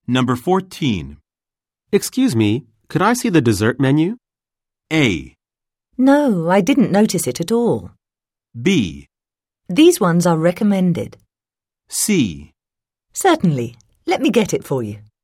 Number 14. Excuse me, could I see the dessert menu? A. No, I didn't notice it at all. B. These ones are recommended. C. Certainly. Let me get it for you.